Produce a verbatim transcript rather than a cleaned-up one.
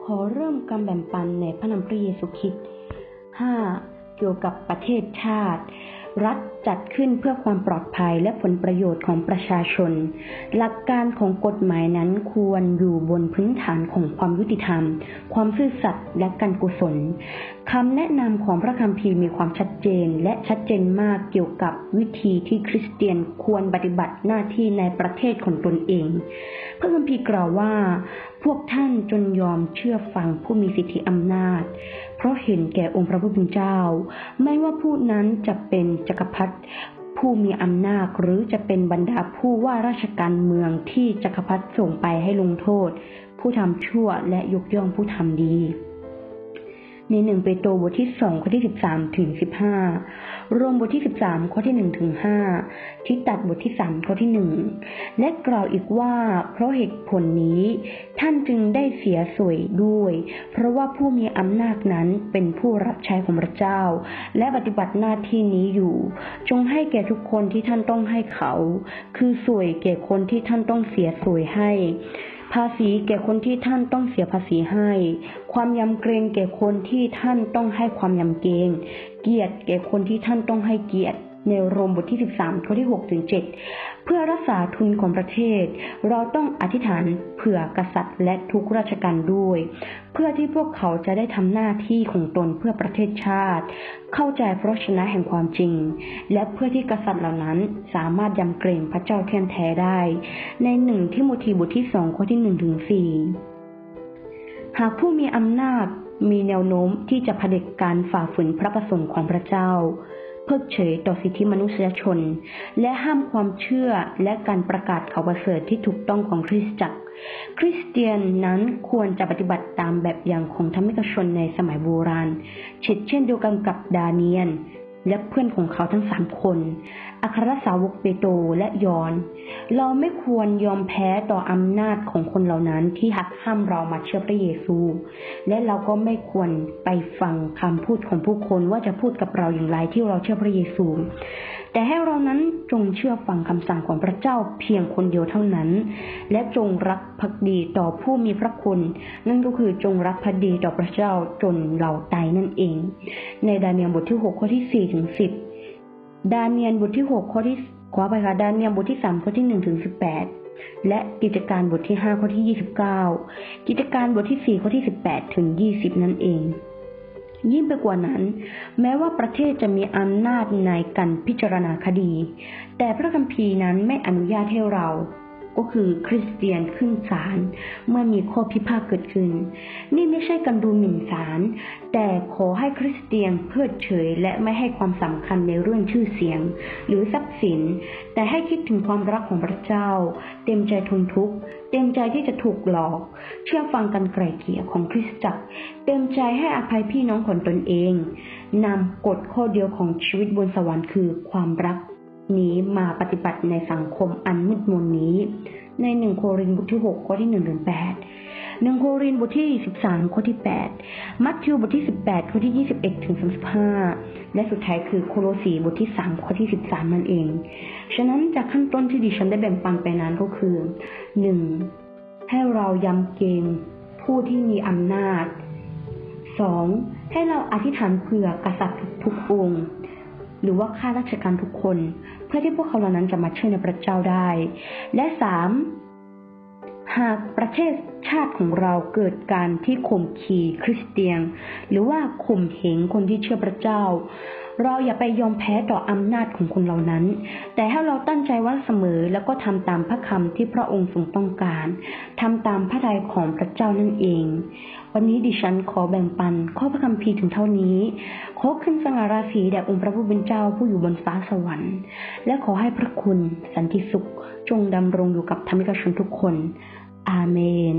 อเริ่มการแบ่งปันในพระนามพระเยซูคริสต์ ห้า. เกี่ยวกับประเทศชาติรัฐจัดขึ้นเพื่อความปลอดภัยและผลประโยชน์ของประชาชนหลักการของกฎหมายนั้นควรอยู่บนพื้นฐานของความยุติธรรมความซื่อสัตย์และการกุศลคำแนะนำของพระคัมภีร์มีความชัดเจนและชัดเจนมากเกี่ยวกับวิธีที่คริสเตียนควรปฏิบัติหน้าที่ในประเทศของตนเองพระคัมภีร์กล่าวว่าพวกท่านจงยอมเชื่อฟังผู้มีสิทธิอำนาจเพราะเห็นแก่องค์พระผู้เป็นเจ้าไม่ว่าผู้นั้นจะเป็นจักรพรรดิผู้มีอำนาจหรือจะเป็นบรรดาผู้ว่าราชการเมืองที่จักรพรรดิส่งไปให้ลงโทษผู้ทำชั่วและยกย่องผู้ทำดีในหนึ่งเปโตรบทที่สองข้อที่สิบสามถึงสิบห้าโรมบทที่สิบสามข้อที่หนึ่งถึงห้าทิตัสบทที่สามข้อที่หนึ่งและกล่าวอีกว่าเพราะเหตุผลนี้ท่านจึงได้เสียสวยด้วยเพราะว่าผู้มีอำนาจนั้นเป็นผู้รับใช้ของพระเจ้าและปฏิบัติหน้าที่นี้อยู่จงให้แก่ทุกคนที่ท่านต้องให้เขาคือสวยแก่คนที่ท่านต้องเสียสวยให้ภาษีแก่คนที่ท่านต้องเสียภาษีให้ความยำเกรงแก่คนที่ท่านต้องให้ความยำเกรงเกียรติแก่คนที่ท่านต้องให้เกียรติในโรมบทที่สิบสามข้อที่หกถึงเจ็ดเพื่อรักษาทุนของประเทศเราต้องอธิษฐานเผื่อกษัตริย์และทุกราชการด้วยเพื่อที่พวกเขาจะได้ทำหน้าที่ของตนเพื่อประเทศชาติเข้าใจพระวจนะแห่งความจริงและเพื่อที่กษัตริย์เหล่านั้นสามารถยำเกรงพระเจ้าแท้แท้ได้ในหนึ่งทิโมธีบทที่สองข้อที่หนึ่งถึงสี่หากผู้มีอำนาจมีแนวโน้มที่จะเผด็จการฝ่าฝืนพระประสงค์ของพระเจ้าเพิกเฉยต่อสิทธิมนุษยชนและห้ามความเชื่อและการประกาศข่าวประเสริฐที่ถูกต้องของคริสตจักรคริสเตียนนั้นควรจะปฏิบัติตามแบบอย่างของธรรมิกชนในสมัยโบราณเช่นเดียวกันกับดาเนียลและเพื่อนของเขาทั้งสามคนอัครสาวกเปโตรและยอห์นเราไม่ควรยอมแพ้ต่ออำนาจของคนเหล่านั้นที่หักห้ามเรามาเชื่อพระเยซูและเราก็ไม่ควรไปฟังคำพูดของผู้คนว่าจะพูดกับเราอย่างไรที่เราเชื่อพระเยซูแต่ให้เรานั้นจงเชื่อฟังคำสั่งของพระเจ้าเพียงคนเดียวเท่านั้นและจงรักภักดีต่อผู้มีพระคุณนั่นก็คือจงรักภักดีต่อพระเจ้าจนเราตายนั่นเองในดาเนียลบทที่หกข้อที่สี่ถึงสิบดาเนียลบทที่หกข้อที่ขอไปค่ะดาเนียลบทที่สามข้อที่หนึ่งถึงสิบแปดและกิจการบทที่ห้าข้อที่ยี่สิบเก้ากิจการบทที่สี่ข้อที่สิบแปดถึงยี่สิบนั่นเองยิ่งไปกว่านั้นแม้ว่าประเทศจะมีอำนาจในการพิจารณาคดีแต่พระคัมภีร์นั้นไม่อนุญาตให้เราก็คือคริสเตียนขึ้นศาลเมื่อมีข้อพิพาทเกิดขึ้นนี่ไม่ใช่การดูหมิ่นศาลแต่ขอให้คริสเตียนเพิกเฉยและไม่ให้ความสำคัญในเรื่องชื่อเสียงหรือทรัพย์สินแต่ให้คิดถึงความรักของพระเจ้าเต็มใจทนทุกข์เต็มใจที่จะถูกหลอกเชื่อฟังการไกล่เกลี่ยของคริสตจักรเต็มใจให้อภัยพี่น้องของตนเองนำกฎข้อเดียวของชีวิตบนสวรรค์คือความรักนี้มาปฏิบัติในสังคมอันมืดมนนี้ในหนึ่งโครินธ์บทที่หกข้อที่หนึ่งถึงแปดหนึ่งโครินธ์บทที่สิบสามข้อที่แปดมัทธิวบทที่สิบแปดข้อที่ยี่สิบเอ็ดถึงสามสิบห้าและสุดท้ายคือโคโลสีบทที่สามข้อที่สิบสามนั่นเองฉะนั้นจากขั้นต้นที่ดิฉันได้แบ่งปันไปนั้นก็คือ หนึ่ง ให้เรายำเกรงผู้ที่มีอำนาจ สอง ให้เราอธิษฐานเผื่อกษัตริย์ทุกองค์หรือว่าข้าราชการทุกคนเพื่อที่พวกเขาเหล่านั้นจะมาเชื่อในพระเจ้าได้และสามหากประเทศชาติของเราเกิดการที่ข่มขีคริสเตียนหรือว่าข่มเหงคนที่เชื่อพระเจ้าเราอย่าไปยอมแพ้ต่ออำนาจของคนเหล่านั้นแต่ให้เราตั้งใจว่าเสมอแล้วก็ทำตามพระคำที่พระองค์ทรงต้องการทำตามพระทัยของพระเจ้านั่นเองวันนี้ดิฉันขอแบ่งปันข้อพระคัมภีร์ถึงเท่านี้ขอขึ้นสง่าราศีแด่องค์พระผู้เป็นเจ้าผู้อยู่บนฟ้าสวรรค์และขอให้พระคุณสันติสุขจงดำรงอยู่กับธรรมิกชนทุกคนอาเมน